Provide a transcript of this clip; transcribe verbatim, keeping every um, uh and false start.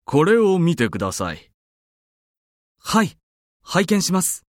これを見てください。 はい、拝見します。